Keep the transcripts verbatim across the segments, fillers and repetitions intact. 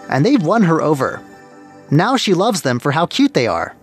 and they've won her over. Now she loves them for how cute they are.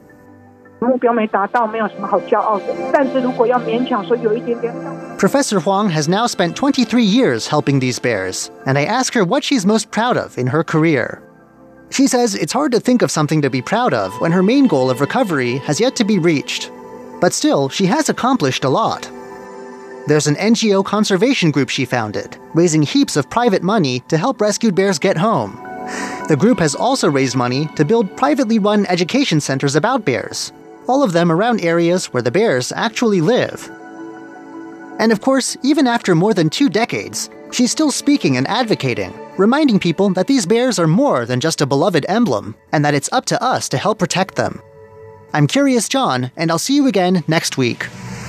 Professor Huang has now spent twenty-three years helping these bears, and I ask her what she's most proud of in her career. She says it's hard to think of something to be proud of when her main goal of recovery has yet to be reached. But still, she has accomplished a lot. There's an N G O conservation group she founded, raising heaps of private money to help rescued bears get home. The group has also raised money to build privately run education centers about bears, all of them around areas where the bears actually live. And of course, even after more than two decades, she's still speaking and advocating, reminding people that these bears are more than just a beloved emblem, and that it's up to us to help protect them. I'm Curious John, and I'll see you again next week.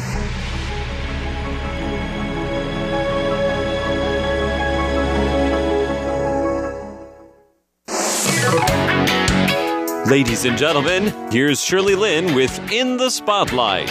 Ladies and gentlemen, here's Shirley Lin with In the Spotlight.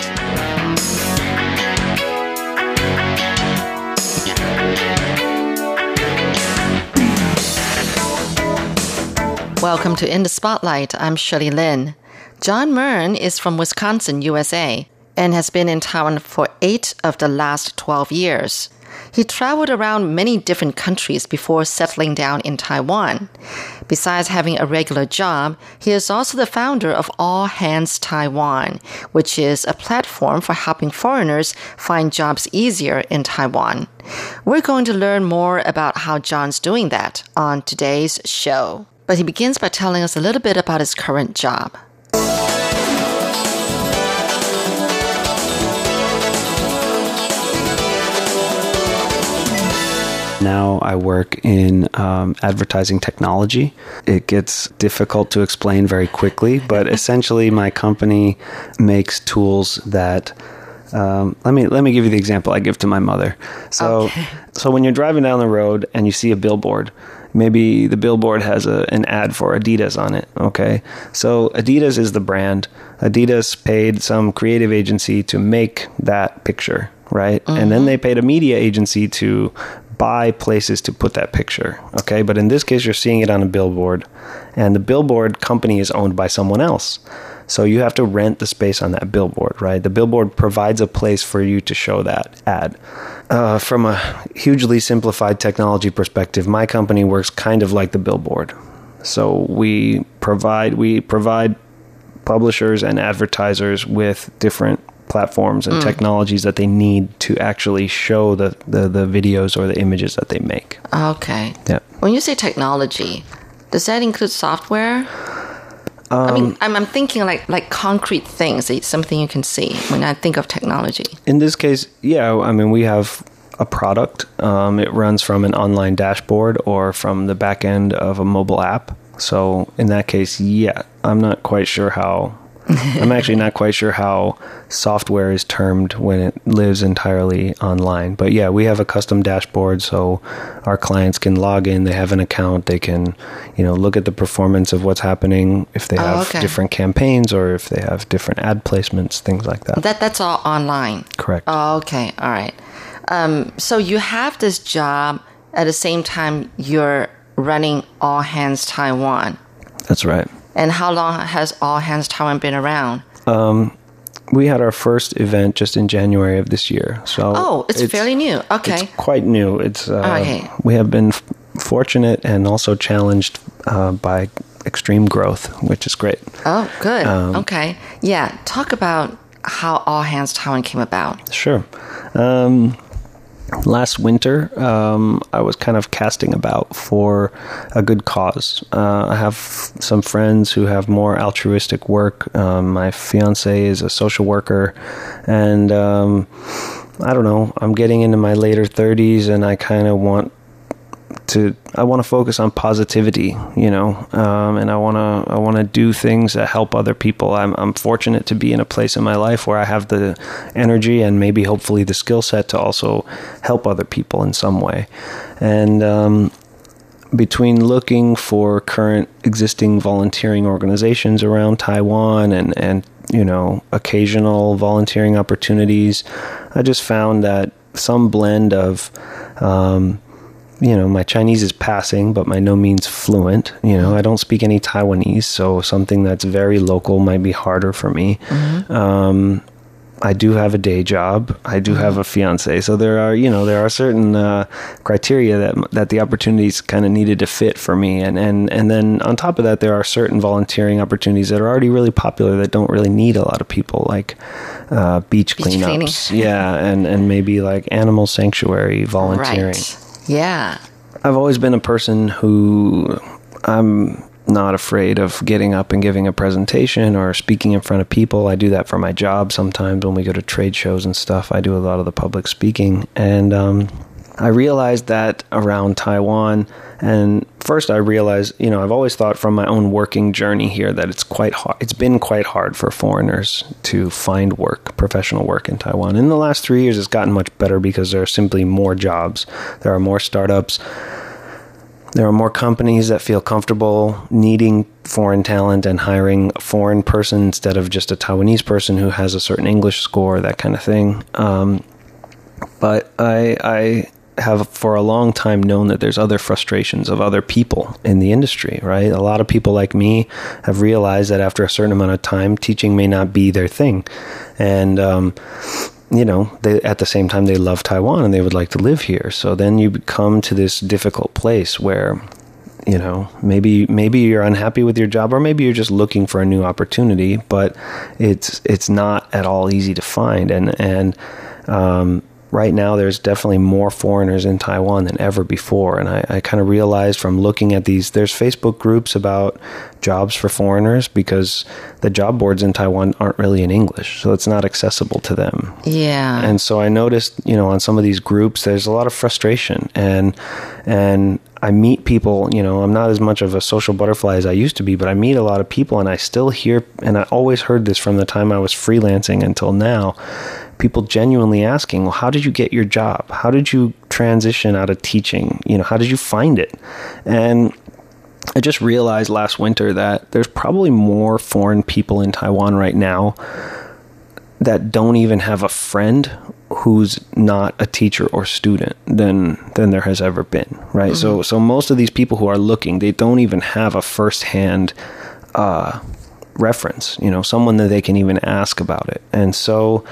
Welcome to In the Spotlight. I'm Shirley Lin. John Murn is from Wisconsin, U S A, and has been in Taiwan for eight of the last twelve years. He traveled around many different countries before settling down in Taiwan. Besides having a regular job, he is also the founder of All Hands Taiwan, which is a platform for helping foreigners find jobs easier in Taiwan. We're going to learn more about how John's doing that on today's show. But he begins by telling us a little bit about his current job. Now I work in um, advertising technology. It gets difficult to explain very quickly, but essentially my company makes tools that um, let me let me give you the example I give to my mother. So okay. so when you're driving down the road and you see a billboard, maybe the billboard has a, an ad for Adidas on it, okay? So Adidas is the brand. Adidas paid some creative agency to make that picture, right? Mm-hmm. And then they paid a media agency to buy places to put that picture, okay? But in this case, you're seeing it on a billboard, and the billboard company is owned by someone else. So you have to rent the space on that billboard, right? The billboard provides a place for you to show that ad. Uh, from a hugely simplified technology perspective, my company works kind of like the billboard. So we provide we provide publishers and advertisers with different platforms and mm. technologies that they need to actually show the, the, the videos or the images that they make. Okay. Yeah. When you say technology, does that include software? Um, I mean, I'm, I'm thinking like like concrete things, something you can see when I think of technology. In this case, yeah, I mean, we have a product. Um, it runs from an online dashboard or from the back end of a mobile app. So in that case, yeah, I'm not quite sure how... I'm actually not quite sure how software is termed when it lives entirely online. But yeah, we have a custom dashboard so our clients can log in, they have an account, they can, you know, look at the performance of what's happening, if they have oh, okay. different campaigns or if they have different ad placements, things like that. That That's all online? Correct. Oh, okay. All right. Um, so you have this job at the same time you're running All Hands Taiwan. That's right. And how long has All Hands Taiwan been around? Um, we had our first event just in January of this year. So oh, it's, it's fairly new. Okay. It's quite new. It's uh, okay. We have been f- fortunate and also challenged uh, by extreme growth, which is great. Oh, good. Um, okay. Yeah. Talk about how All Hands Taiwan came about. Sure. Um, Last winter, um, I was kind of casting about for a good cause. Uh, I have some friends who have more altruistic work. Um, my fiance is a social worker, and um, I don't know, I'm getting into my later thirties, and I kind of want to, I want to focus on positivity, you know, um, and I want to, I want to do things that help other people. I'm, I'm fortunate to be in a place in my life where I have the energy and maybe hopefully the skill set to also help other people in some way. And, um, between looking for current existing volunteering organizations around Taiwan and, and, you know, occasional volunteering opportunities, I just found that some blend of, um, you know, my Chinese is passing, but by no means fluent. You know, I don't speak any Taiwanese, so something that's very local might be harder for me. Mm-hmm. Um, I do have a day job. I do have a fiance. So there are, you know, there are certain uh, criteria that that the opportunities kind of needed to fit for me. And, and, and then on top of that, there are certain volunteering opportunities that are already really popular that don't really need a lot of people, like uh, beach, beach cleanups. Cleaning. Yeah, and, and maybe like animal sanctuary volunteering. Right. Yeah. I've always been a person who I'm not afraid of getting up and giving a presentation or speaking in front of people. I do that for my job sometimes when we go to trade shows and stuff. I do a lot of the public speaking. And um, I realized that around Taiwan, and first I realized, you know, I've always thought from my own working journey here that it's quite hard. It's been quite hard for foreigners to find work, professional work in Taiwan. In the last three years, it's gotten much better because there are simply more jobs. There are more startups. There are more companies that feel comfortable needing foreign talent and hiring a foreign person instead of just a Taiwanese person who has a certain English score, that kind of thing. Um, but I, I have for a long time known that there's other frustrations of other people in the industry, right? A lot of people like me have realized that after a certain amount of time, teaching may not be their thing. And, um, you know, they, at the same time, they love Taiwan and they would like to live here. So then you come to this difficult place where, you know, maybe maybe you're unhappy with your job, or maybe you're just looking for a new opportunity, but it's it's not at all easy to find. And and um, right now, there's definitely more foreigners in Taiwan than ever before. And I, I kind of realized from looking at these, there's Facebook groups about jobs for foreigners because the job boards in Taiwan aren't really in English, so it's not accessible to them. Yeah. And so I noticed, you know, on some of these groups, there's a lot of frustration, and and I meet people, you know, I'm not as much of a social butterfly as I used to be, but I meet a lot of people, and I still hear, and I always heard this from the time I was freelancing until now, people genuinely asking, well, how did you get your job? How did you transition out of teaching? You know, how did you find it? And I just realized last winter that there's probably more foreign people in Taiwan right now that don't even have a friend who's not a teacher or student than than there has ever been, right? Mm-hmm. So so most of these people who are looking, they don't even have a firsthand uh, reference, you know, someone that they can even ask about it. And so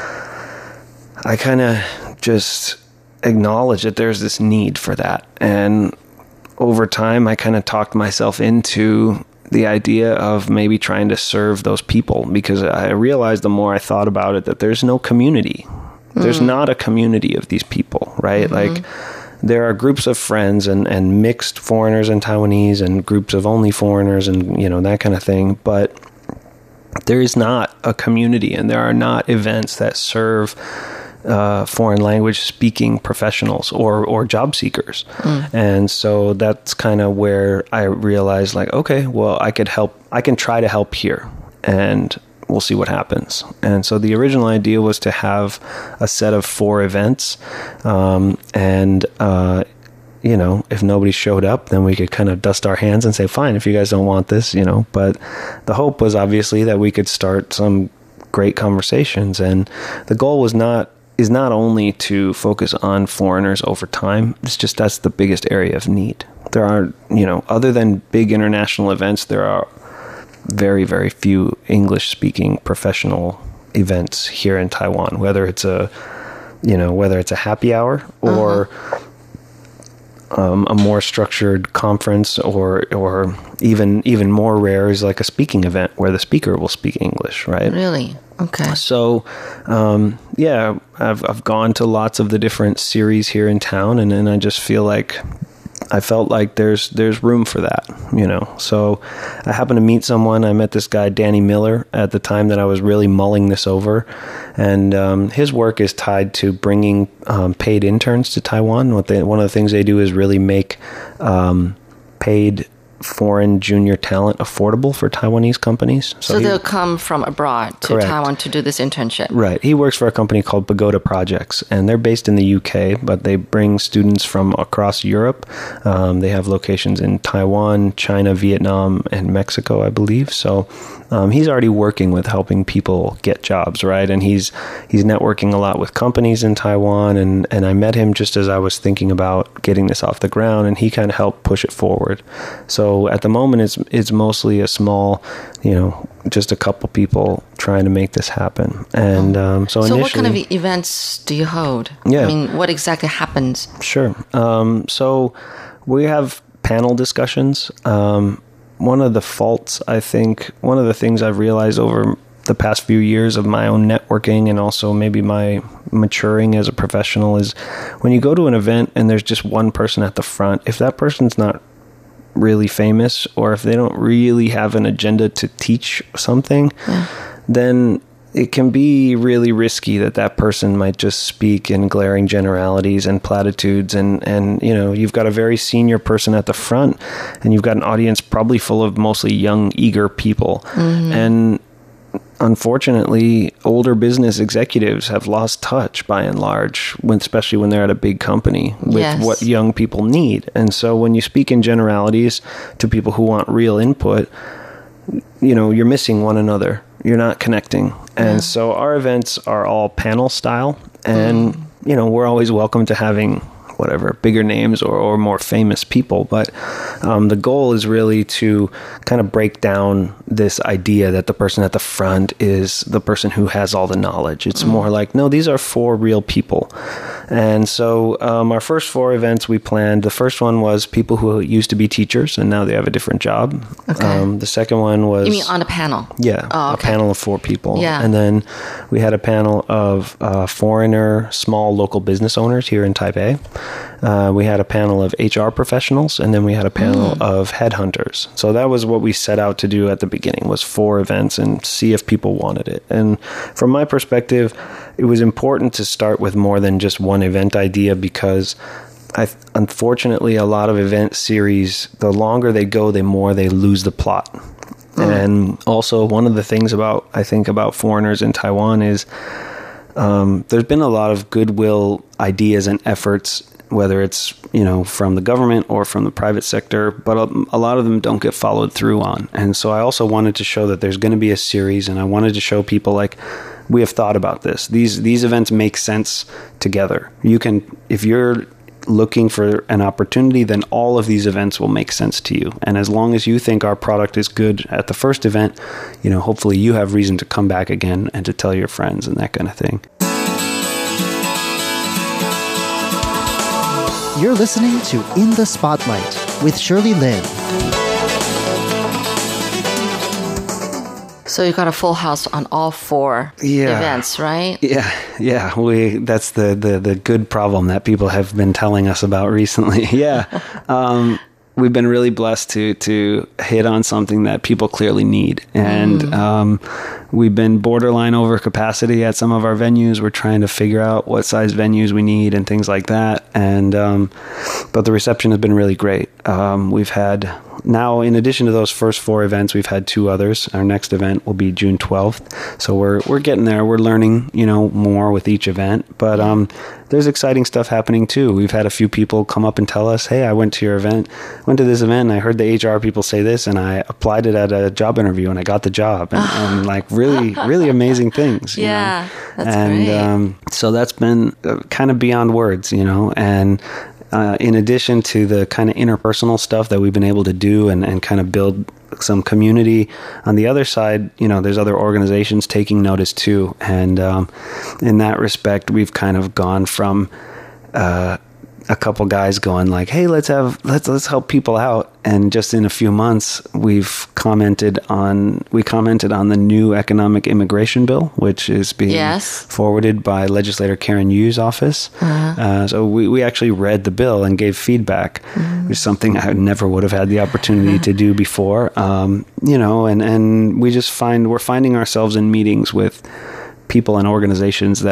I kind of just acknowledge that there's this need for that. And over time, I kind of talked myself into the idea of maybe trying to serve those people, because I realized the more I thought about it that there's no community. Mm. There's not a community of these people, right? Mm-hmm. Like there are groups of friends and, and mixed foreigners and Taiwanese and groups of only foreigners and, you know, that kind of thing. But there is not a community, and there are not events that serve Uh, foreign language speaking professionals or, or job seekers. Mm. And so that's kind of where I realized, like, okay, well, I could help. I can try to help here, and we'll see what happens. And so the original idea was to have a set of four events. Um, and, uh, you know, if nobody showed up, then we could kind of dust our hands and say, fine, if you guys don't want this, you know. But the hope was obviously that we could start some great conversations. And the goal was not is not only to focus on foreigners over time. It's just that's the biggest area of need. There are, you know, other than big international events, there are very, very few English-speaking professional events here in Taiwan, whether it's a, you know, whether it's a happy hour or uh-huh. um, a more structured conference, or or even even more rare is like a speaking event where the speaker will speak English, right? Really? Okay. So, um, yeah, I've I've gone to lots of the different series here in town, and, and I just feel like I felt like there's there's room for that, you know. So I happened to meet someone. I met this guy, Danny Miller, at the time that I was really mulling this over, and um, his work is tied to bringing um, paid interns to Taiwan. What they one of the things they do is really make um, paid foreign junior talent affordable for Taiwanese companies. So, so he, they'll come from abroad to correct. Taiwan to do this internship. Right. He works for a company called Pagoda Projects, and they're based in the U K, but they bring students from across Europe. Um, they have locations in Taiwan, China, Vietnam, and Mexico, I believe. So um, he's already working with helping people get jobs, right? And he's he's networking a lot with companies in Taiwan, and, and I met him just as I was thinking about getting this off the ground, and he kind of helped push it forward. So at the moment, it's it's mostly a small, you know, just a couple people trying to make this happen. And um, so, so initially, what kind of events do you hold? Yeah. I mean, what exactly happens? Sure. Um, so we have panel discussions. Um, one of the faults, I think, one of the things I've realized over the past few years of my own networking and also maybe my maturing as a professional is when you go to an event and there's just one person at the front, if that person's not really famous, or if they don't really have an agenda to teach something, yeah. then it can be really risky that that person might just speak in glaring generalities and platitudes. And, and, you know, you've got a very senior person at the front and you've got an audience probably full of mostly young, eager people. Mm-hmm. And unfortunately, older business executives have lost touch by and large, when, especially when they're at a big company, with yes. what young people need. And so when you speak in generalities to people who want real input, you know, you're missing one another. You're not connecting. And yeah. so our events are all panel style. And, mm. you know, we're always welcome to having whatever, bigger names or, or more famous people. But um, the goal is really to kind of break down this idea that the person at the front is the person who has all the knowledge. It's mm. more like, no, these are four real people. And so um, our first four events we planned, the first one was people who used to be teachers and now they have a different job. Okay. Um, the second one was... You mean on a panel? Yeah, oh, okay. a panel of four people. Yeah. And then we had a panel of uh, foreigner, small local business owners here in Taipei. Uh, we had a panel of H R professionals, and then we had a panel mm. of headhunters. So that was what we set out to do at the beginning, was four events and see if people wanted it. And from my perspective, it was important to start with more than just one event idea, because I, unfortunately, a lot of event series, the longer they go, the more they lose the plot. Mm. And also, one of the things about, I think, about foreigners in Taiwan is um, there's been a lot of goodwill ideas and efforts, whether it's, you know, from the government or from the private sector, but a, a lot of them don't get followed through on. And so I also wanted to show that there's going to be a series, and I wanted to show people, like, we have thought about this. These these events make sense together. You can, if you're looking for an opportunity, then all of these events will make sense to you. And as long as you think our product is good at the first event, you know, hopefully you have reason to come back again and to tell your friends and that kind of thing. You're listening to In the Spotlight with Shirley Lin. So you got a full house on all four yeah. events, right? Yeah, yeah. We that's the, the, the good problem that people have been telling us about recently. Yeah. um, we've been really blessed to to hit on something that people clearly need. And mm. um, we've been borderline over capacity at some of our venues. We're trying to figure out what size venues we need and things like that. And um, but the reception has been really great. Um, we've had... Now, in addition to those first four events, we've had two others. Our next event will be June twelfth. So we're we're getting there. We're learning, you know, more with each event. But um, there's exciting stuff happening too. We've had a few people come up and tell us, "Hey, I went to your event, went to this event, and I heard the H R people say this, and I applied it at a job interview, and I got the job." And, and like really, really amazing things. You yeah, know? that's and, great. Um, so that's been uh, kind of beyond words, you know, and. Uh, in addition to the kind of interpersonal stuff that we've been able to do and, and kind of build some community, on the other side, you know, there's other organizations taking notice too. And um, in that respect, we've kind of gone from uh, a couple guys going like, "Hey, let's have let's let's help people out." And just in a few months, we've commented on we commented on the new economic immigration bill, which is being yes. forwarded by legislator Karen Yu's office. Uh-huh. Uh, so we, we actually read the bill and gave feedback, mm. which is something I never would have had the opportunity to do before. Um, you know, and, and we just find we're finding ourselves in meetings with people and organizations that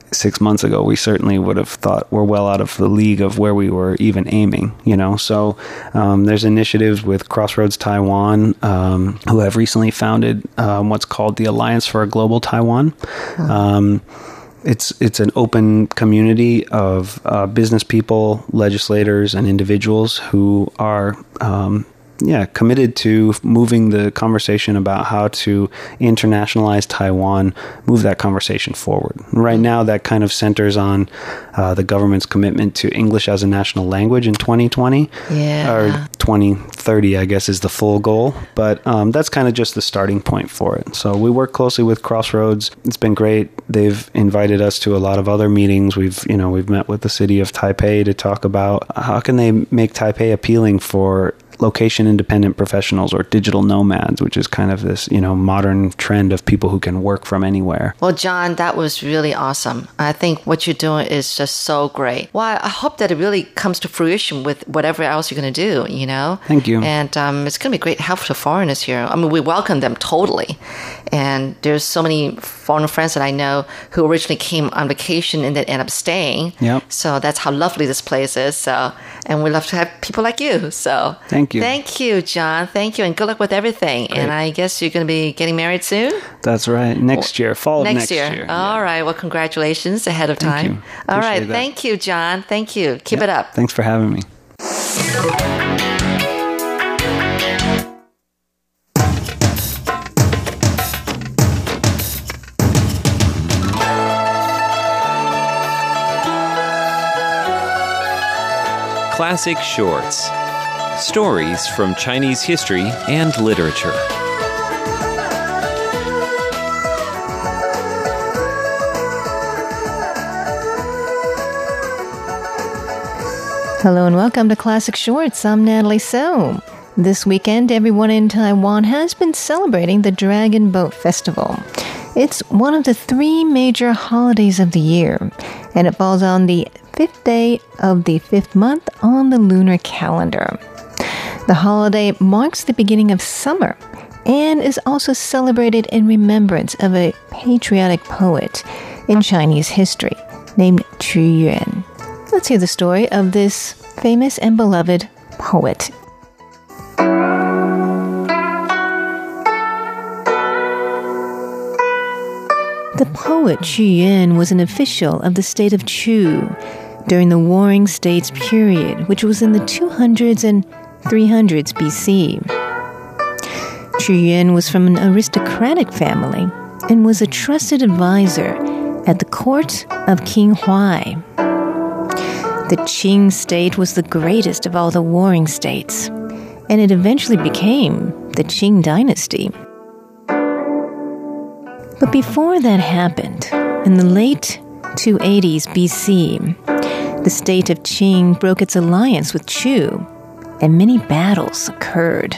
six months ago, we certainly would have thought we're well out of the league of where we were even aiming, you know. So um, there's initiatives with Crossroads Taiwan, um, who have recently founded um, what's called the Alliance for a Global Taiwan. Mm-hmm. Um, it's it's an open community of uh, business people, legislators, and individuals who are um, Yeah, committed to moving the conversation about how to internationalize Taiwan, move that conversation forward. Right now, that kind of centers on uh, the government's commitment to English as a national language in twenty twenty. Yeah. Or twenty thirty, I guess, is the full goal. But um, that's kind of just the starting point for it. So we work closely with Crossroads. It's been great. They've invited us to a lot of other meetings. We've, you know, we've met with the city of Taipei to talk about how can they make Taipei appealing for location-independent professionals or digital nomads, which is kind of this, you know, modern trend of people who can work from anywhere. Well, John, that was really awesome. I think what you're doing is just so great. Well, I hope that it really comes to fruition with whatever else you're going to do, you know? Thank you. And um, it's going to be great help to foreigners here. I mean, we welcome them totally. And there's so many foreign friends that I know who originally came on vacation and then end up staying. Yep. So that's how lovely this place is. So, and we love to have people like you. So thank you. Thank you, John. Thank you. And good luck with everything. Great. And I guess you're going to be getting married soon? That's right. Next year. Fall of next, next year. year. All yeah. right. Well, congratulations ahead of thank time. You. All right. that. Thank you, John. Thank you. Keep yep. it up. Thanks for having me. Classic Shorts. Stories from Chinese history and literature. Hello and welcome to Classic Shorts. I'm Natalie So. This weekend, everyone in Taiwan has been celebrating the Dragon Boat Festival. It's one of the three major holidays of the year, and it falls on the fifth day of the fifth month on the lunar calendar. The holiday marks the beginning of summer and is also celebrated in remembrance of a patriotic poet in Chinese history named Qu Yuan. Let's hear the story of this famous and beloved poet. The poet Qu Yuan was an official of the state of Chu during the Warring States period, which was in the two hundreds and three hundreds B C. Qu Yuan was from an aristocratic family and was a trusted advisor at the court of King Huai. The Qing state was the greatest of all the warring states, and it eventually became the Qing dynasty. But before that happened, in the late two eighties B C, the state of Qing broke its alliance with Chu, and many battles occurred.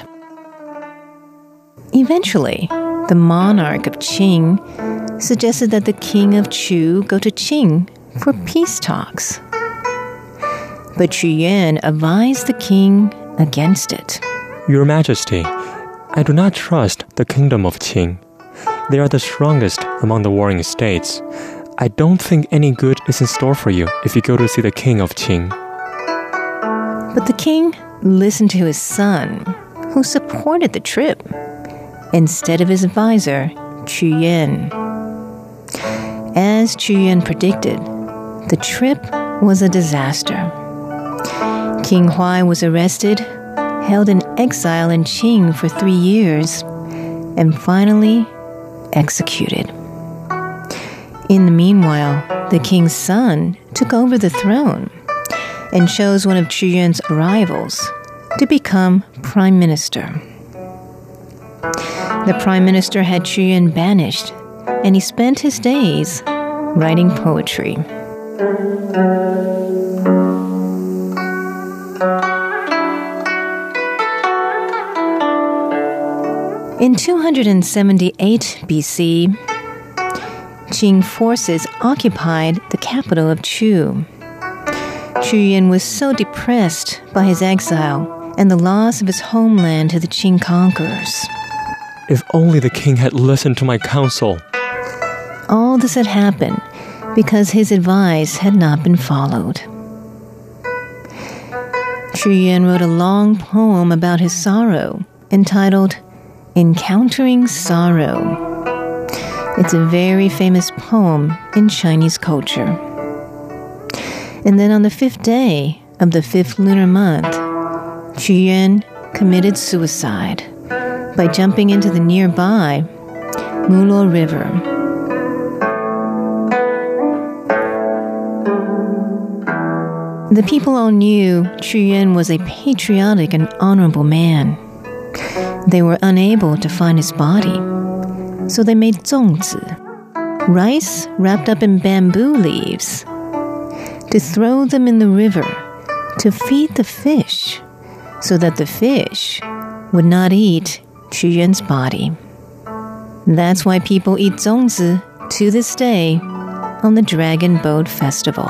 Eventually, the monarch of Qing suggested that the king of Chu go to Qing for peace talks. But Qu Yuan advised the king against it. Your Majesty, I do not trust the kingdom of Qing. They are the strongest among the warring states. I don't think any good is in store for you if you go to see the king of Qing. But the king listened to his son, who supported the trip, instead of his advisor, Qu Yuan. As Qu Yuan predicted, the trip was a disaster. King Huai was arrested, held in exile in Qing for three years, and finally executed. In the meanwhile, the king's son took over the throne and chose one of Qu Yuan's rivals to become prime minister. The prime minister had Qu Yuan banished, and he spent his days writing poetry. In two hundred seventy-eight B C, Qing forces occupied the capital of Chu. Qu Yuan was so depressed by his exile and the loss of his homeland to the Qing conquerors. If only the king had listened to my counsel. All this had happened because his advice had not been followed. Qu Yuan wrote a long poem about his sorrow entitled Encountering Sorrow. It's a very famous poem in Chinese culture. And then on the fifth day of the fifth lunar month, Qu Yuan committed suicide by jumping into the nearby Mulo River. The people all knew Qu Yuan was a patriotic and honorable man. They were unable to find his body, so they made zongzi, rice wrapped up in bamboo leaves, to throw them in the river to feed the fish, so that the fish would not eat Qu Yuan's body. That's why people eat zongzi to this day on the Dragon Boat Festival.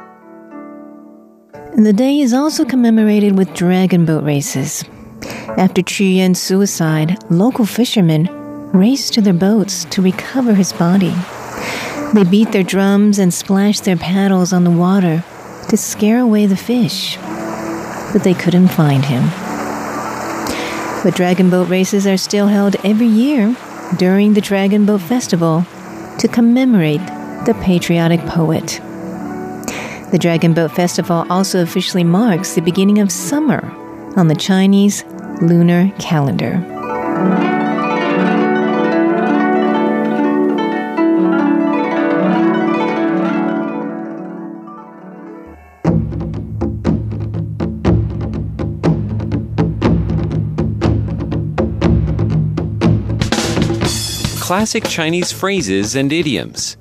And the day is also commemorated with dragon boat races. After Qu Yuan's suicide, local fishermen raced to their boats to recover his body. They beat their drums and splashed their paddles on the water to scare away the fish, but they couldn't find him. But dragon boat races are still held every year during the Dragon Boat Festival to commemorate the patriotic poet. The Dragon Boat Festival also officially marks the beginning of summer on the Chinese lunar calendar. Classic Chinese phrases and idioms.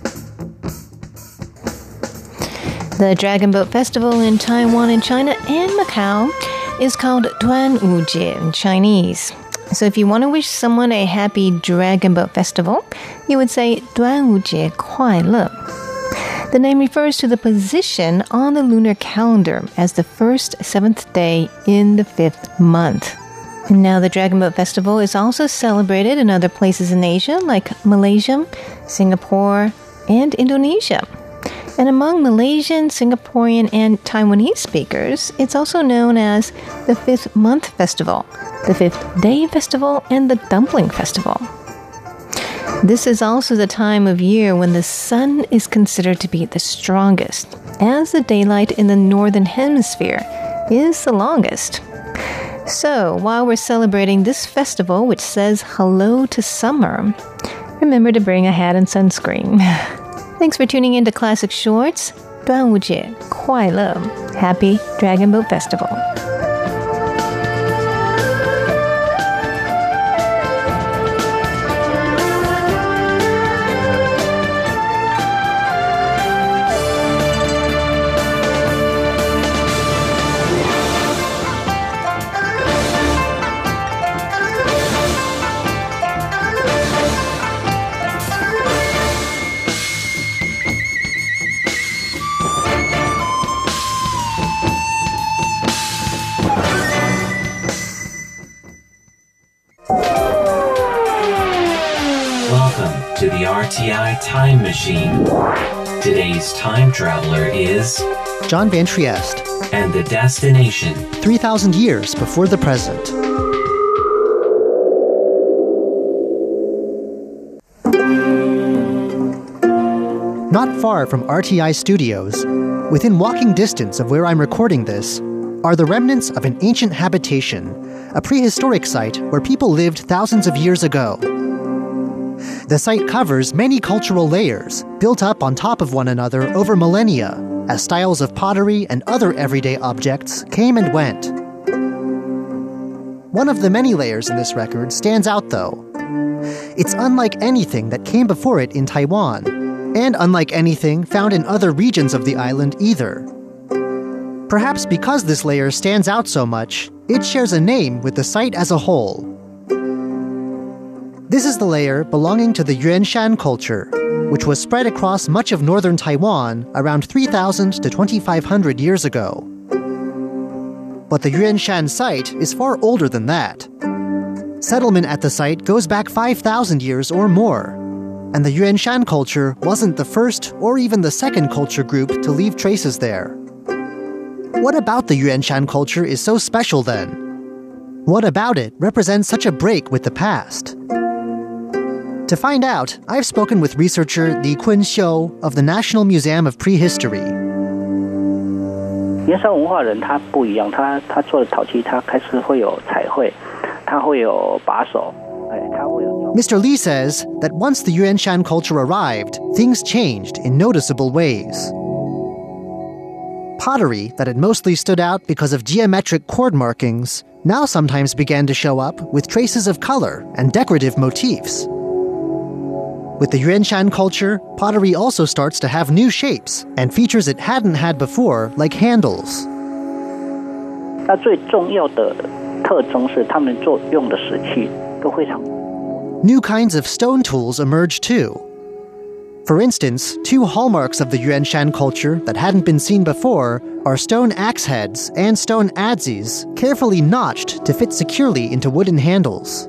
The Dragon Boat Festival in Taiwan and China and Macau is called Duanwujie in Chinese. So if you want to wish someone a happy Dragon Boat Festival, you would say Duanwujie Kuai Le. The name refers to the position on the lunar calendar as the first seventh day in the fifth month. And now the Dragon Boat Festival is also celebrated in other places in Asia like Malaysia, Singapore, and Indonesia. And among Malaysian, Singaporean, and Taiwanese speakers, it's also known as the Fifth Month Festival, the Fifth Day Festival, and the Dumpling Festival. This is also the time of year when the sun is considered to be the strongest, as the daylight in the northern hemisphere is the longest. So, while we're celebrating this festival, which says hello to summer, remember to bring a hat and sunscreen. Thanks for tuning in to Classic Shorts. 端午节快乐 Happy Dragon Boat Festival. To the R T I Time Machine. Today's time traveler is John Van Trieste. And the destination three thousand years before the present. Not far from R T I Studios, within walking distance of where I'm recording this, are the remnants of an ancient habitation, a prehistoric site where people lived thousands of years ago. The site covers many cultural layers, built up on top of one another over millennia, as styles of pottery and other everyday objects came and went. One of the many layers in this record stands out, though. It's unlike anything that came before it in Taiwan, and unlike anything found in other regions of the island either. Perhaps because this layer stands out so much, it shares a name with the site as a whole. This is the layer belonging to the Yuanshan culture, which was spread across much of northern Taiwan around three thousand to twenty-five hundred years ago. But the Yuanshan site is far older than that. Settlement at the site goes back five thousand years or more. and the Yuanshan culture wasn't the first or even the second culture group to leave traces there. What about the Yuanshan culture is so special then? What about it represents such a break with the past? To find out, I've spoken with researcher Li Kun-xiu of the National Museum of Prehistory. 原山文化人他不一样，他他做的陶器，他开始会有彩绘，他会有把手，哎，他会有。 Mister Li says that once the Yuanshan culture arrived, things changed in noticeable ways. Pottery that had mostly stood out because of geometric chord markings now sometimes began to show up with traces of color and decorative motifs. With the Yuanshan culture, pottery also starts to have new shapes and features it hadn't had before, like handles. 那最重要的特征是他们做用的石器都非常。 New kinds of stone tools emerged too. For instance, two hallmarks of the Yuanshan culture that hadn't been seen before are stone axe heads and stone adzes, carefully notched to fit securely into wooden handles.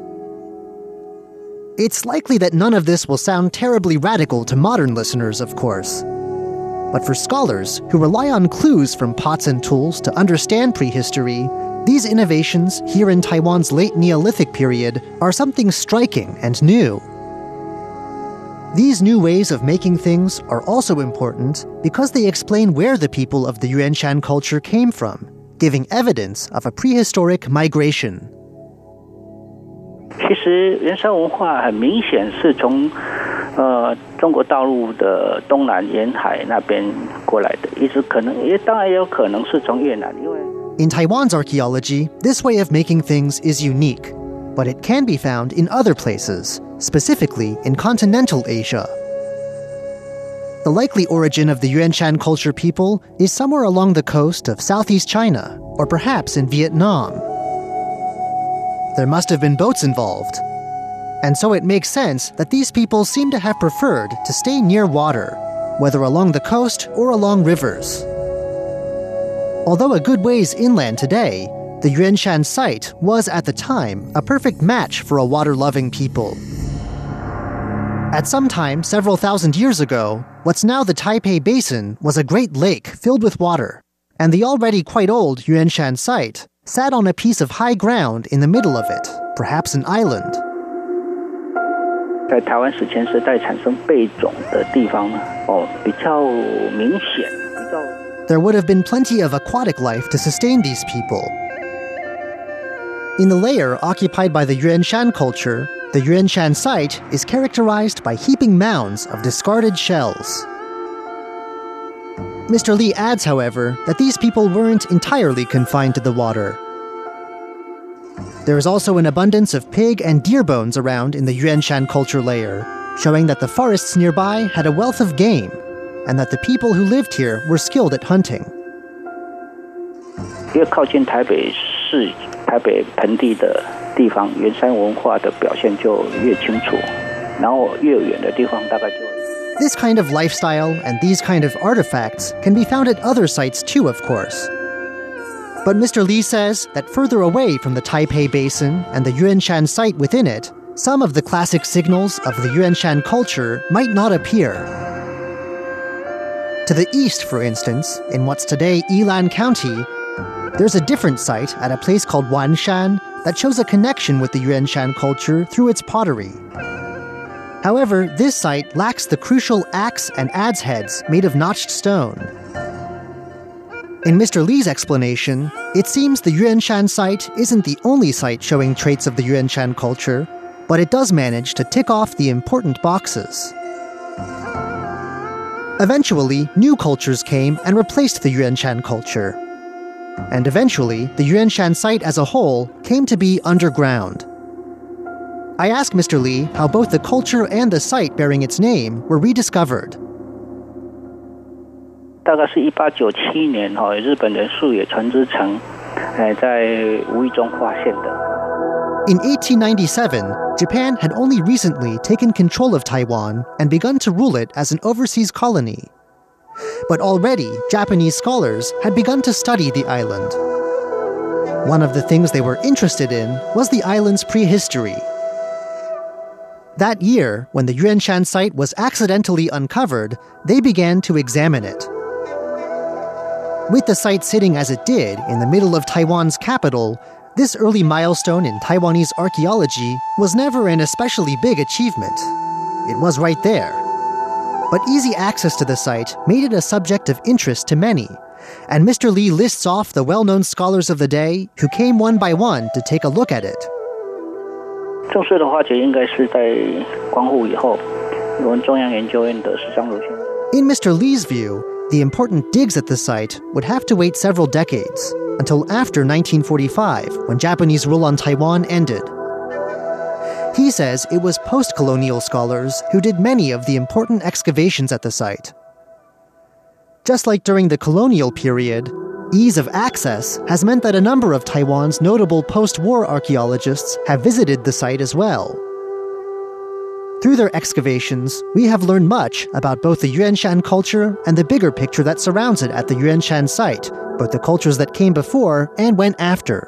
It's likely that none of this will sound terribly radical to modern listeners, of course. But for scholars who rely on clues from pots and tools to understand prehistory, these innovations here in Taiwan's late Neolithic period are something striking and new. These new ways of making things are also important because they explain where the people of the Yuanshan culture came from, giving evidence of a prehistoric migration. 其实原山文化很明显是从呃中国大陆的东南沿海那边过来的，一直可能也当然也有可能是从越南，因为 In Taiwan's archaeology, this way of making things is unique, but it can be found in other places, specifically in continental Asia. The likely origin of the Yuanshan culture people is somewhere along the coast of southeast China, or perhaps in Vietnam. There must have been boats involved, and so it makes sense that these people seem to have preferred to stay near water, whether along the coast or along rivers. Although a good ways inland today, the Yuanshan site was at the time a perfect match for a water-loving people. At some time several thousand years ago, what's now the Taipei Basin was a great lake filled with water, and the already quite old Yuanshan site sat on a piece of high ground in the middle of it, perhaps an island. 在台湾史前时代产生贝种的地方呢，哦，比较明显，比较。 There would have been plenty of aquatic life to sustain these people. In the layer occupied by the Yuanshan culture, the Yuanshan site is characterized by heaping mounds of discarded shells. Mister Li adds, however, that these people weren't entirely confined to the water. There is also an abundance of pig and deer bones around in the Yuanshan culture layer, showing that the forests nearby had a wealth of game, and that the people who lived here were skilled at hunting. 越靠近台北市、台北盆地的地方，原山文化的表现就越清楚，然后越远的地方大概就。 This kind of lifestyle and these kind of artifacts can be found at other sites too, of course. But Mister Li says that further away from the Taipei Basin and the Yuanshan site within it, some of the classic signals of the Yuanshan culture might not appear. To the east, for instance, in what's today Yilan County, there's a different site at a place called Wanshan that shows a connection with the Yuanshan culture through its pottery. However, this site lacks the crucial axe and adze heads made of notched stone. In Mister Li's explanation, it seems the Yuanshan site isn't the only site showing traits of the Yuanshan culture, but it does manage to tick off the important boxes. Eventually, new cultures came and replaced the Yuanshan culture. And eventually, the Yuanshan site as a whole came to be underground. I asked Mister Li how both the culture and the site bearing its name were rediscovered. 大概是一八九七年哈，日本人素野船之城，哎，在无意中发现的。 In eighteen ninety-seven, Japan had only recently taken control of Taiwan and begun to rule it as an overseas colony. But already, Japanese scholars had begun to study the island. One of the things they were interested in was the island's prehistory. That year, when the Yuanshan site was accidentally uncovered, they began to examine it. With the site sitting as it did in the middle of Taiwan's capital, this early milestone in Taiwanese archaeology was never an especially big achievement. It was right there. But easy access to the site made it a subject of interest to many, and Mister Lee lists off the well-known scholars of the day who came one by one to take a look at it. 正式的挖掘应该是在光复以后，我们中央研究院的十三路线。 In Mister Lee's view, the important digs at the site would have to wait several decades, until after nineteen forty-five, when Japanese rule on Taiwan ended. He says it was post-colonial scholars who did many of the important excavations at the site. Just like during the colonial period, ease of access has meant that a number of Taiwan's notable post-war archaeologists have visited the site as well. Through their excavations, we have learned much about both the Yuanshan culture and the bigger picture that surrounds it at the Yuanshan site, both the cultures that came before and went after.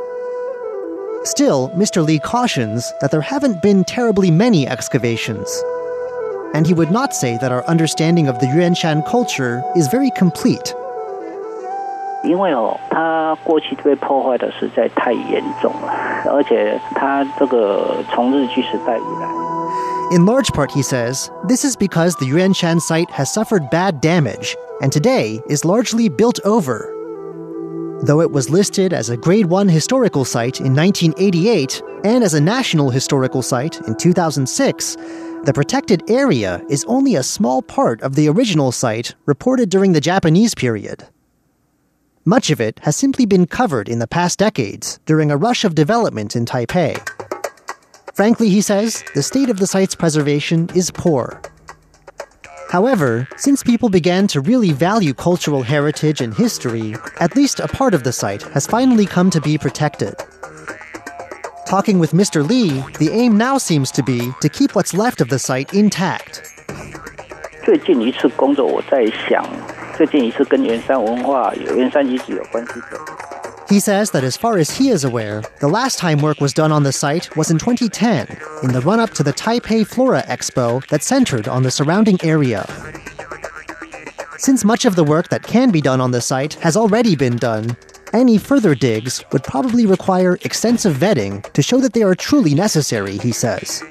Still, Mister Lee cautions that there haven't been terribly many excavations. And he would not say that our understanding of the Yuanshan culture is very complete. 因为哦，它过去被破坏的实在太严重了，而且它这个从日据时代以来。 In large part, he says, this is because the Yuanshan site has suffered bad damage, and today is largely built over. Though it was listed as a Grade one historical site in nineteen eighty-eight and as a National Historical Site in two thousand six, the protected area is only a small part of the original site reported during the Japanese period. Much of it has simply been covered in the past decades during a rush of development in Taipei. Frankly, he says, the state of the site's preservation is poor. However, since people began to really value cultural heritage and history, at least a part of the site has finally come to be protected. Talking with Mister Lee, the aim now seems to be to keep what's left of the site intact. 最近一次工作，我在想，最近一次跟圆山文化、圆山遗址有关系的。 He says that as far as he is aware, the last time work was done on the site was in twenty ten, in the run-up to the Taipei Flora Expo that centered on the surrounding area. Since much of the work that can be done on the site has already been done, any further digs would probably require extensive vetting to show that they are truly necessary, he says.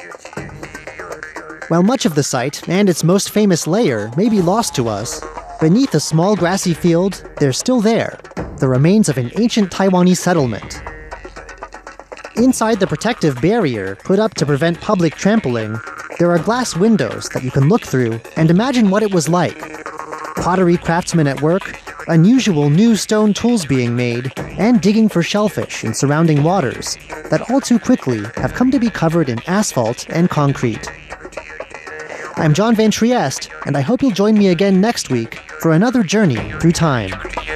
While much of the site and its most famous layer may be lost to us, beneath a small grassy field, they're still there, the remains of an ancient Taiwanese settlement. Inside the protective barrier put up to prevent public trampling, there are glass windows that you can look through and imagine what it was like. Pottery craftsmen at work, unusual new stone tools being made, and digging for shellfish in surrounding waters that all too quickly have come to be covered in asphalt and concrete. I'm John Van Trieste, and I hope you'll join me again next week for another journey through time.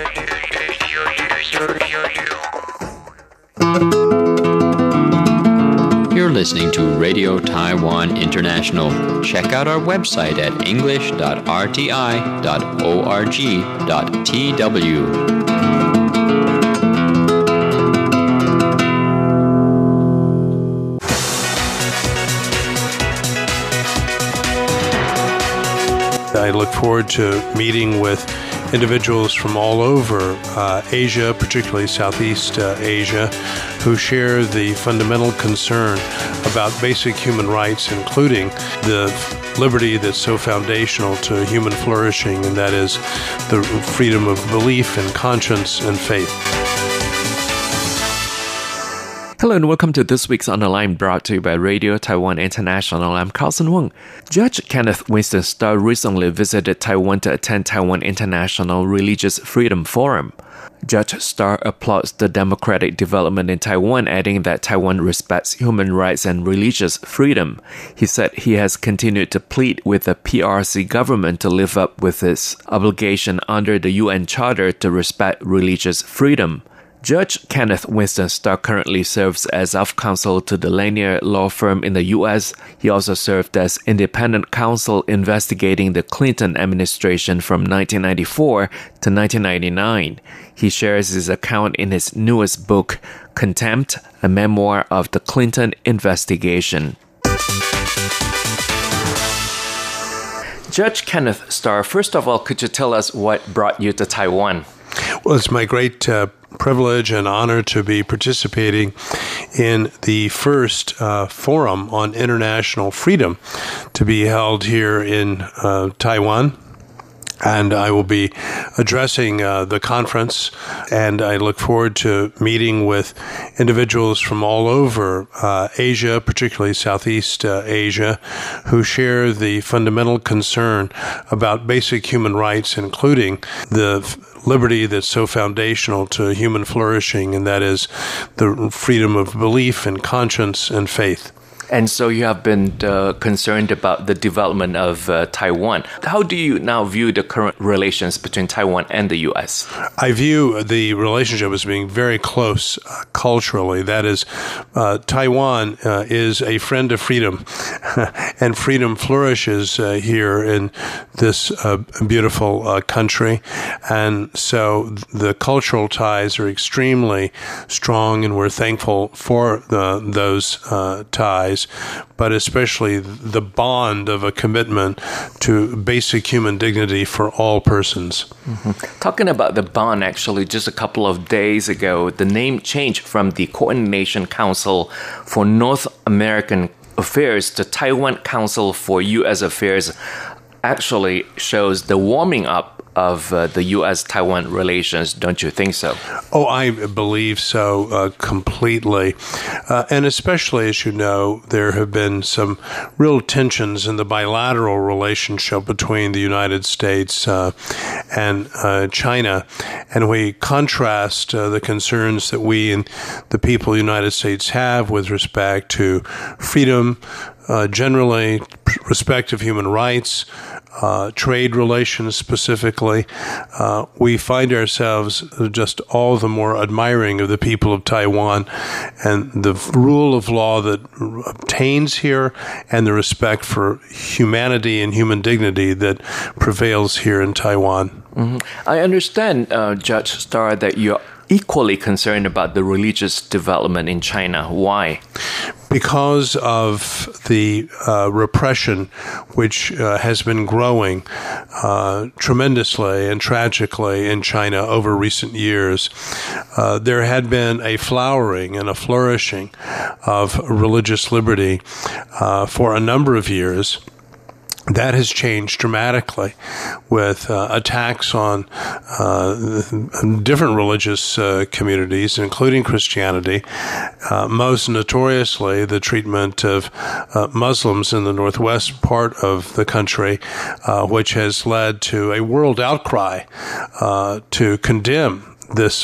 You're listening to Radio Taiwan International. Check out our website at english dot r t i dot org dot t w. I look forward to meeting with individuals from all over uh, Asia, particularly Southeast uh, Asia, who share the fundamental concern about basic human rights, including the liberty that's so foundational to human flourishing, and that is the freedom of belief and conscience and faith. Hello and welcome to this week's On the Line, brought to you by Radio Taiwan International. I'm Carlson Wong. Judge Kenneth Winston Starr recently visited Taiwan to attend Taiwan International Religious Freedom Forum. Judge Starr applauds the democratic development in Taiwan, adding that Taiwan respects human rights and religious freedom. He said he has continued to plead with the P R C government to live up with its obligation under the U N Charter to respect religious freedom. Judge Kenneth Winston Starr currently serves as of-counsel to the Lanier law firm in the U S. He also served as independent counsel investigating the Clinton administration from nineteen ninety-four to nineteen ninety-nine. He shares his account in his newest book, Contempt, a memoir of the Clinton investigation. Judge Kenneth Starr, first of all, could you tell us what brought you to Taiwan? Well, it's my great uh, privilege and honor to be participating in the first uh, forum on international freedom to be held here in uh, Taiwan. And I will be addressing uh, the conference, and I look forward to meeting with individuals from all over uh, Asia, particularly Southeast uh, Asia, who share the fundamental concern about basic human rights, including the liberty that's so foundational to human flourishing, and that is the freedom of belief and conscience and faith. And so you have been uh, concerned about the development of uh, Taiwan. How do you now view the current relations between Taiwan and the U S? I view the relationship as being very close uh, culturally. That is, uh, Taiwan uh, is a friend of freedom, and freedom flourishes uh, here in this uh, beautiful uh, country. And so the cultural ties are extremely strong, and we're thankful for the, those uh, ties. But especially the bond of a commitment to basic human dignity for all persons. Mm-hmm. Talking about the bond, actually, just a couple of days ago, the name changed from the Coordination Council for North American Affairs to Taiwan Council for U S Affairs. Actually shows the warming up of uh, the U S Taiwan relations, don't you think so? Oh, I believe so uh, completely. Uh, and especially, as you know, there have been some real tensions in the bilateral relationship between the United States uh, and uh, China. And we contrast uh, the concerns that we and the people of the United States have with respect to freedom, uh, generally, respect of human rights, Uh, trade relations specifically. Uh, we find ourselves just all the more admiring of the people of Taiwan and the rule of law that obtains here and the respect for humanity and human dignity that prevails here in Taiwan. Mm-hmm. I understand, uh, Judge Starr, that you're equally concerned about the religious development in China. Why? Because of the uh, repression which uh, has been growing uh, tremendously and tragically in China over recent years. Uh, there had been a flowering and a flourishing of religious liberty uh, for a number of years. That has changed dramatically with uh, attacks on uh, different religious uh, communities, including Christianity, uh, most notoriously the treatment of uh, Muslims in the northwest part of the country, uh, which has led to a world outcry uh, to condemn this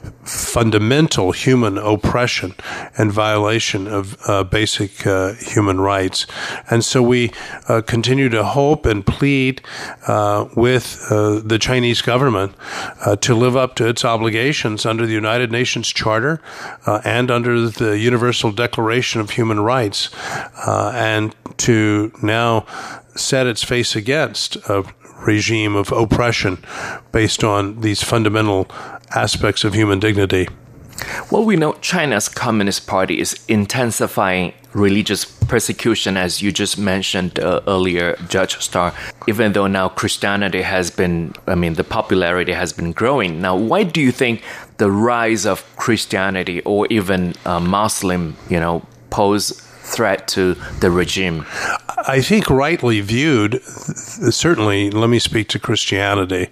fundamental human oppression and violation of uh, basic uh, human rights. And so we uh, continue to hope and plead uh, with uh, the Chinese government uh, to live up to its obligations under the United Nations Charter uh, and under the Universal Declaration of Human Rights, uh, and to now set its face against a regime of oppression based on these fundamental aspects of human dignity. Well, we know China's Communist Party is intensifying religious persecution, as you just mentioned uh, earlier, Judge Starr, even though now Christianity has been, I mean, the popularity has been growing. Now, why do you think the rise of Christianity or even uh, Muslim, you know, pose threat to the regime? I think rightly viewed, certainly, let me speak to Christianity.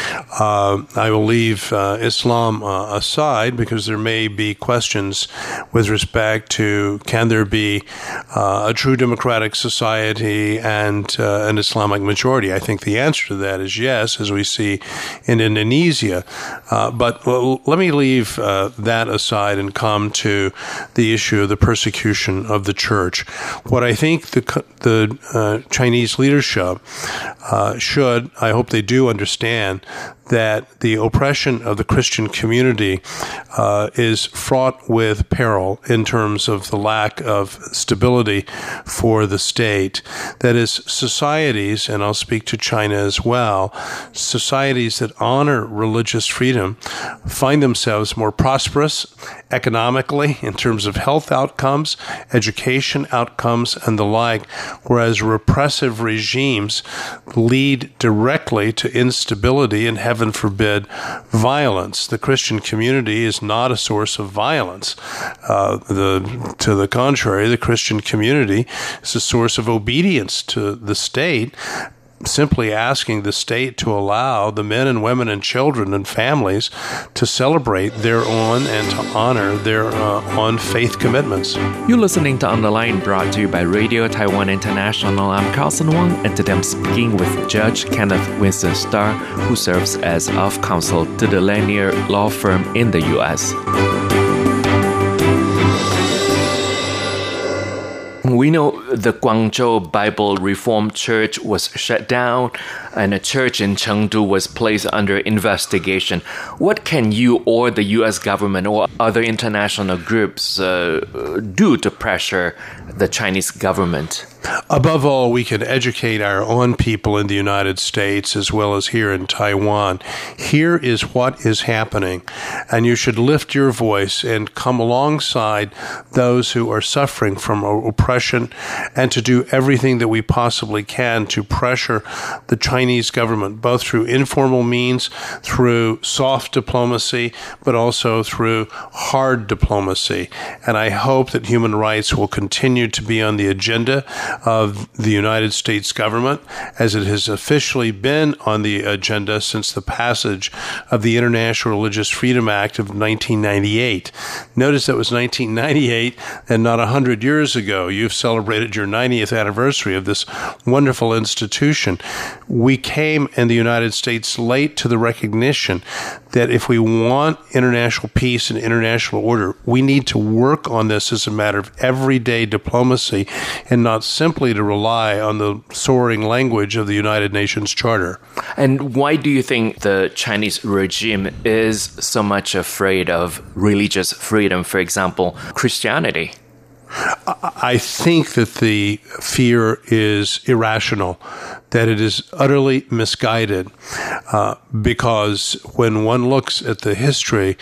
Uh, I will leave uh, Islam uh, aside because there may be questions with respect to can there be uh, a true democratic society and uh, an Islamic majority. I think the answer to that is yes, as we see in Indonesia. Uh, but l- let me leave uh, that aside and come to the issue of the persecution of the church. What I think the the uh, Chinese leadership uh, should, I hope they do understand that the oppression of the Christian community uh, is fraught with peril in terms of the lack of stability for the state. That is, societies, and I'll speak to China as well, societies that honor religious freedom find themselves more prosperous economically in terms of health outcomes, education outcomes, and the like, whereas repressive regimes lead directly to instability and, heaven forbid, violence. The Christian community is not a source of violence. Uh, the, to the contrary, the Christian community is a source of obedience to the state, simply asking the state to allow the men and women and children and families to celebrate their own and to honor their uh, own faith commitments. You're listening to On the Line, brought to you by Radio Taiwan International. I'm Carlson Wong, and today I'm speaking with Judge Kenneth Winston Starr, who serves as of counsel to the Lanier Law Firm in the U S We know the Guangzhou Bible Reformed Church was shut down and a church in Chengdu was placed under investigation. What can you or the U S government or other international groups uh, do to pressure the Chinese government? Above all, we can educate our own people in the United States as well as here in Taiwan. Here is what is happening, and you should lift your voice and come alongside those who are suffering from oppression and to do everything that we possibly can to pressure the Chinese government, both through informal means, through soft diplomacy, but also through hard diplomacy. And I hope that human rights will continue to be on the agenda of the United States government, as it has officially been on the agenda since the passage of the International Religious Freedom Act of nineteen ninety-eight. Notice that was nineteen ninety-eight and not one hundred years ago. You've celebrated your ninetieth anniversary of this wonderful institution. We came in the United States late to the recognition that if we want international peace and international order, we need to work on this as a matter of everyday diplomacy and not simply to rely on the soaring language of the United Nations Charter. And why do you think the Chinese regime is so much afraid of religious freedom, for example, Christianity? I think that the fear is irrational, that it is utterly misguided, uh, because when one looks at the history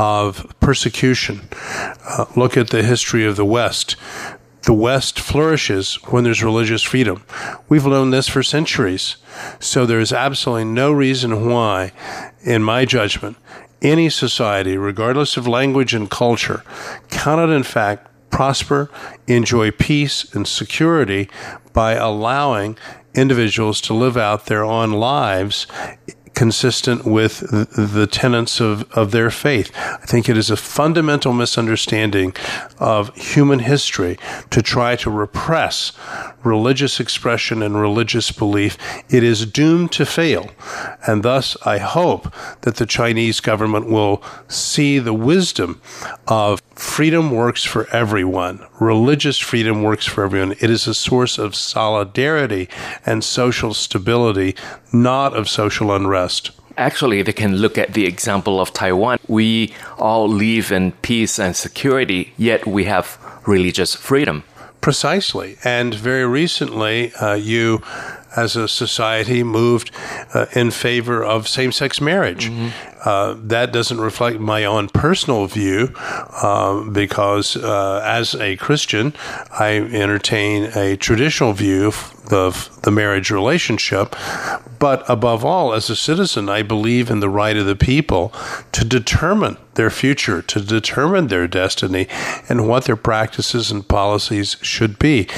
of persecution, uh, look at the history of the West, the West flourishes when there's religious freedom. We've known this for centuries. So there's absolutely no reason why, in my judgment, any society, regardless of language and culture, cannot in fact prosper, enjoy peace and security by allowing individuals to live out their own lives consistent with the tenets of, of their faith. I think it is a fundamental misunderstanding of human history to try to repress religious expression and religious belief. It is doomed to fail. And thus, I hope that the Chinese government will see the wisdom of freedom works for everyone. Religious freedom works for everyone. It is a source of solidarity and social stability, not of social unrest. Actually, they can look at the example of Taiwan. We all live in peace and security, yet we have religious freedom. Precisely. And very recently, uh, you, as a society, moved uh, in favor of same-sex marriage. Mm-hmm. Uh, that doesn't reflect my own personal view, uh, because uh, as a Christian, I entertain a traditional view of the marriage relationship. But above all, as a citizen, I believe in the right of the people to determine their future, to determine their destiny, and what their practices and policies should be.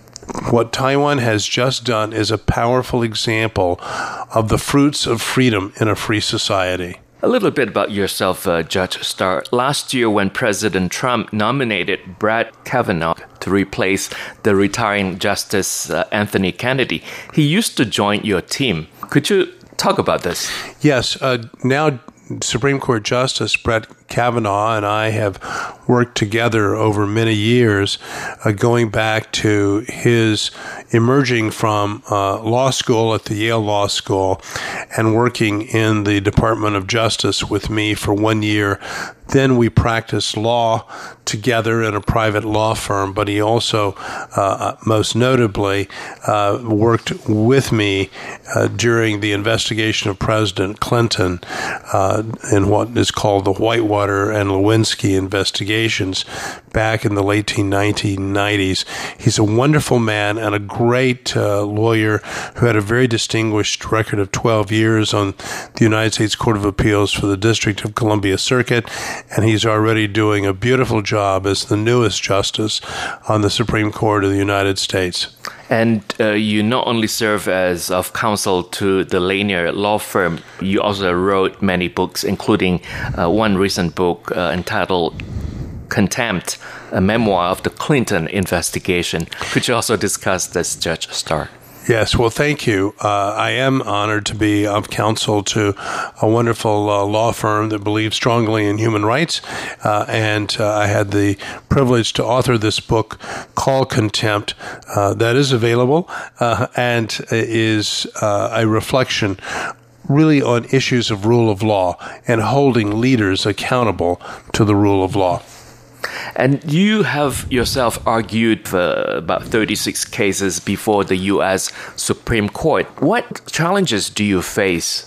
What Taiwan has just done is a powerful example of the fruits of freedom in a free society. A little bit about yourself, uh, Judge Starr. Last year, when President Trump nominated Brett Kavanaugh to replace the retiring Justice uh, Anthony Kennedy, he used to join your team. Could you talk about this? Yes. Uh, now, Supreme Court Justice Brett Kavanaugh and I have worked together over many years, uh, going back to his emerging from uh, law school at the Yale Law School and working in the Department of Justice with me for one year. Then we practiced law together in a private law firm, but he also, uh, most notably, uh, worked with me uh, during the investigation of President Clinton uh, in what is called the Whitewater and Lewinsky investigations back in the late nineteen nineties. He's a wonderful man and a great uh, lawyer who had a very distinguished record of twelve years on the United States Court of Appeals for the District of Columbia Circuit, and he's already doing a beautiful job as the newest justice on the Supreme Court of the United States. And uh, you not only serve as of counsel to the Lanier law firm, you also wrote many books, including uh, one recent book uh, entitled Contempt, a memoir of the Clinton investigation. Could you also discuss this, Judge Starr? Yes, well, thank you. Uh, I am honored to be of counsel to a wonderful uh, law firm that believes strongly in human rights, uh, and uh, I had the privilege to author this book called Contempt uh, that is available uh, and is uh, a reflection really on issues of rule of law and holding leaders accountable to the rule of law. And you have yourself argued for about thirty-six cases before the U S Supreme Court. What challenges do you face?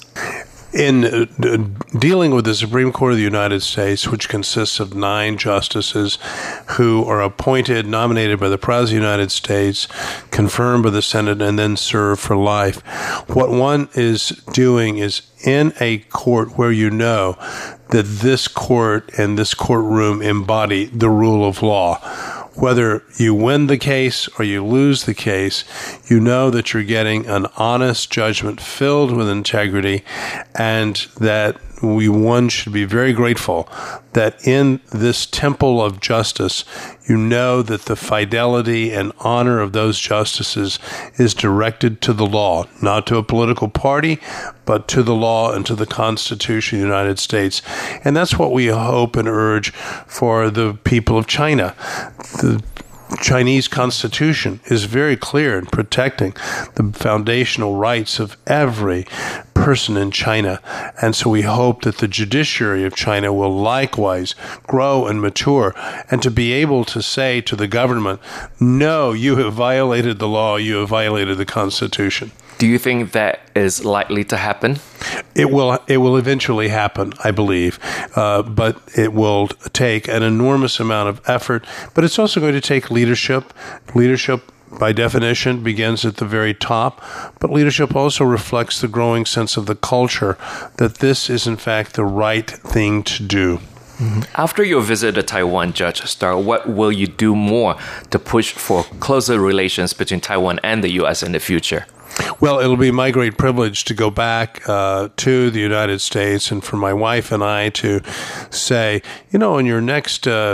In uh, dealing with the Supreme Court of the United States, which consists of nine justices who are appointed, nominated by the President of the United States, confirmed by the Senate, and then serve for life, what one is doing is in a court where you know that this court and this courtroom embody the rule of law. Whether you win the case or you lose the case, you know that you're getting an honest judgment filled with integrity, and that we one should be very grateful that in this temple of justice, you know that the fidelity and honor of those justices is directed to the law, not to a political party, but to the law and to the Constitution of the United States. And that's what we hope and urge for the people of China. The Chinese Constitution is very clear in protecting the foundational rights of every person in China. And so we hope that the judiciary of China will likewise grow and mature, and to be able to say to the government, no, you have violated the law, you have violated the Constitution. Do you think that is likely to happen? It will It will eventually happen, I believe, uh, but it will take an enormous amount of effort, but it's also going to take leadership. Leadership, by definition, begins at the very top, but leadership also reflects the growing sense of the culture that this is, in fact, the right thing to do. Mm-hmm. After your visit to Taiwan, Judge Starr, what will you do more to push for closer relations between Taiwan and the U S in the future? Well, it'll be my great privilege to go back uh, to the United States and for my wife and I to say, you know, on your next uh,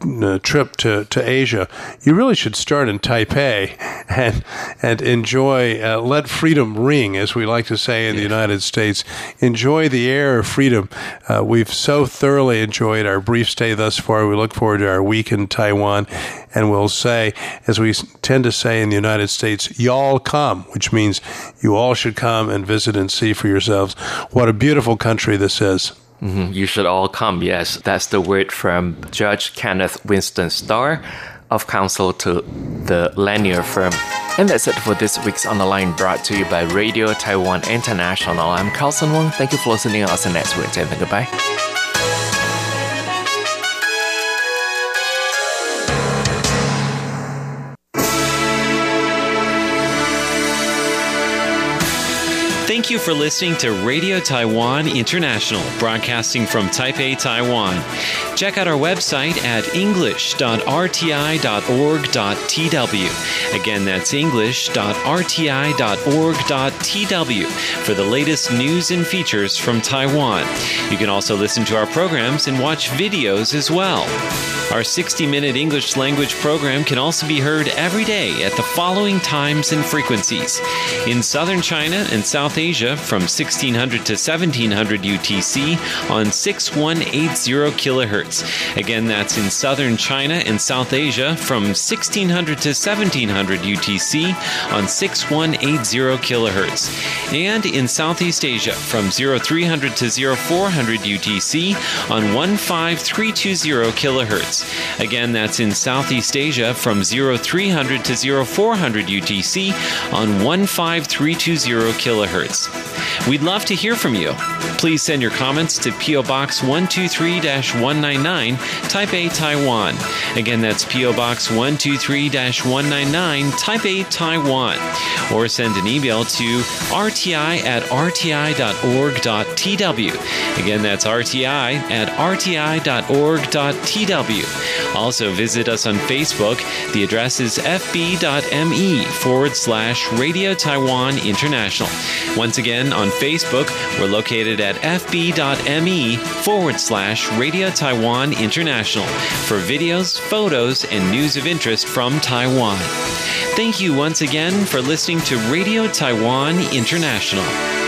trip to, to Asia, you really should start in Taipei and and enjoy, uh, let freedom ring, as we like to say in the United States. Enjoy the air of freedom. Uh, we've so thoroughly enjoyed our brief stay thus far. We look forward to our week in Taiwan, and we'll say, as we tend to say in the United States, y'all come, which means you all should come and visit and see for yourselves what a beautiful country this is. Mm-hmm. You should all come, yes. That's the word from Judge Kenneth Winston Starr, of counsel to the Lanier firm. And that's it for this week's On the Line, brought to you by Radio Taiwan International. I'm Carlson Wong. Thank you for listening. I'll see you next week. And goodbye. Thank you for listening to Radio Taiwan International, broadcasting from Taipei, Taiwan. Check out our website at english dot r t i dot org dot t w. Again, that's english dot r t i dot org dot t w for the latest news and features from Taiwan. You can also listen to our programs and watch videos as well. Our sixty-minute English language program can also be heard every day at the following times and frequencies: in southern China and South Asia Asia from sixteen hundred to seventeen hundred U T C on six one eight zero kilohertz. Again, that's in southern China and South Asia from sixteen hundred to seventeen hundred U T C on six one eight zero kilohertz. And in Southeast Asia from three hundred to four hundred U T C on one five three two zero kilohertz. Again, that's in Southeast Asia from three hundred to four hundred U T C on one five three two zero kilohertz. We'd love to hear from you. Please send your comments to P O Box one two three dash one nine nine, Taipei, Taiwan. Again, that's P O Box one two three dash one nine nine, Taipei, Taiwan. Or send an email to r t i at r t i dot org dot t w. Again, that's r t i at r t i dot org dot t w. Also, visit us on Facebook. The address is fb.me forward slash Radio Taiwan International. Once again, on Facebook, we're located at fb.me forward slash Radio Taiwan International for videos, photos, and news of interest from Taiwan. Thank you once again for listening to Radio Taiwan International.